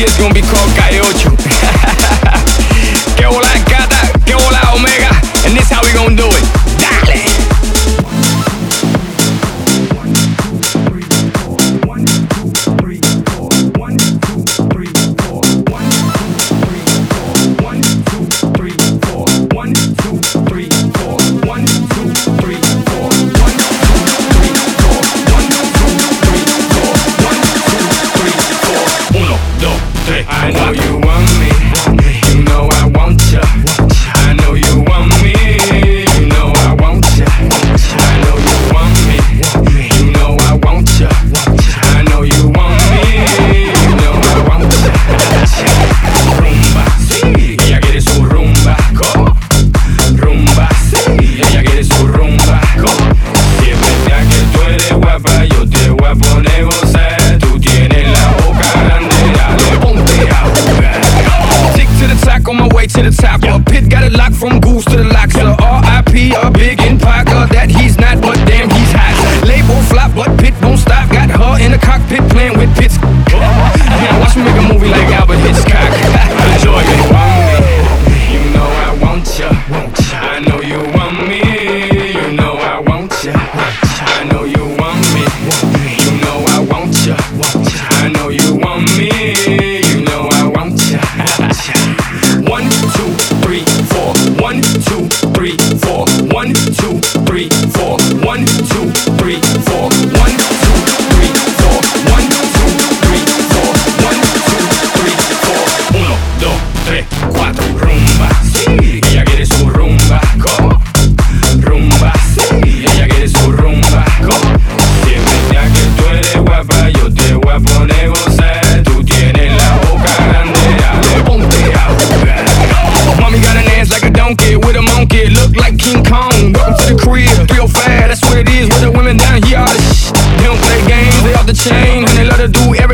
it's gonna be called Calle Ocho. Que hola Cata, que hola Omega, and this how we gonna do it. Dale. I know you want me, you know I want ya. I know you want me, you know I want ya. I know you want me, you know I want ya. I know you want me, you know I want ya. Rumba, sí, ella quiere su rumba, rumba, sí, ella quiere su rumba, Si es verdad que tú eres guapa, yo te voy a poner gozar. Tú tienes la boca grande, dale, ponte a jugar. Tick to the top, on my way to the top. Pit got it locked from Goose to the locks. R.I.P. a big in Parker, that he's not, but damn he's hot. Label flop, but Pit won't stop. Got her in the cockpit playing with Pitts. Man, watch me make a movie like Albert Hitchcock. Enjoy it. You know I want ya. I know you want me. You know I want ya. I know you want me. You know I want ya. I know you want me. You know I want ya. 1, 2, 3, 4. 1, 2, 3, 4. 1, 2, 3, 4. 1, 2, 3, 4. 1, 2, 3, 4. 1, 2, 3, 4. 1, 2, 3, 4. 1, 2, 3, 4. Rumba, sí, ella quiere su rumba, rumba, sí, ella quiere su rumba, Si es verdad que tú eres guapa, yo te voy a poner gozar. Tú tienes la boca grande, dale, ponte a jugar. Mommy got an ass like a donkey with a monkey, look like King Kong. Welcome to the crib, 305, that's what it is with the women down here. All the they don't play games, they off the chain, and they let her do everything.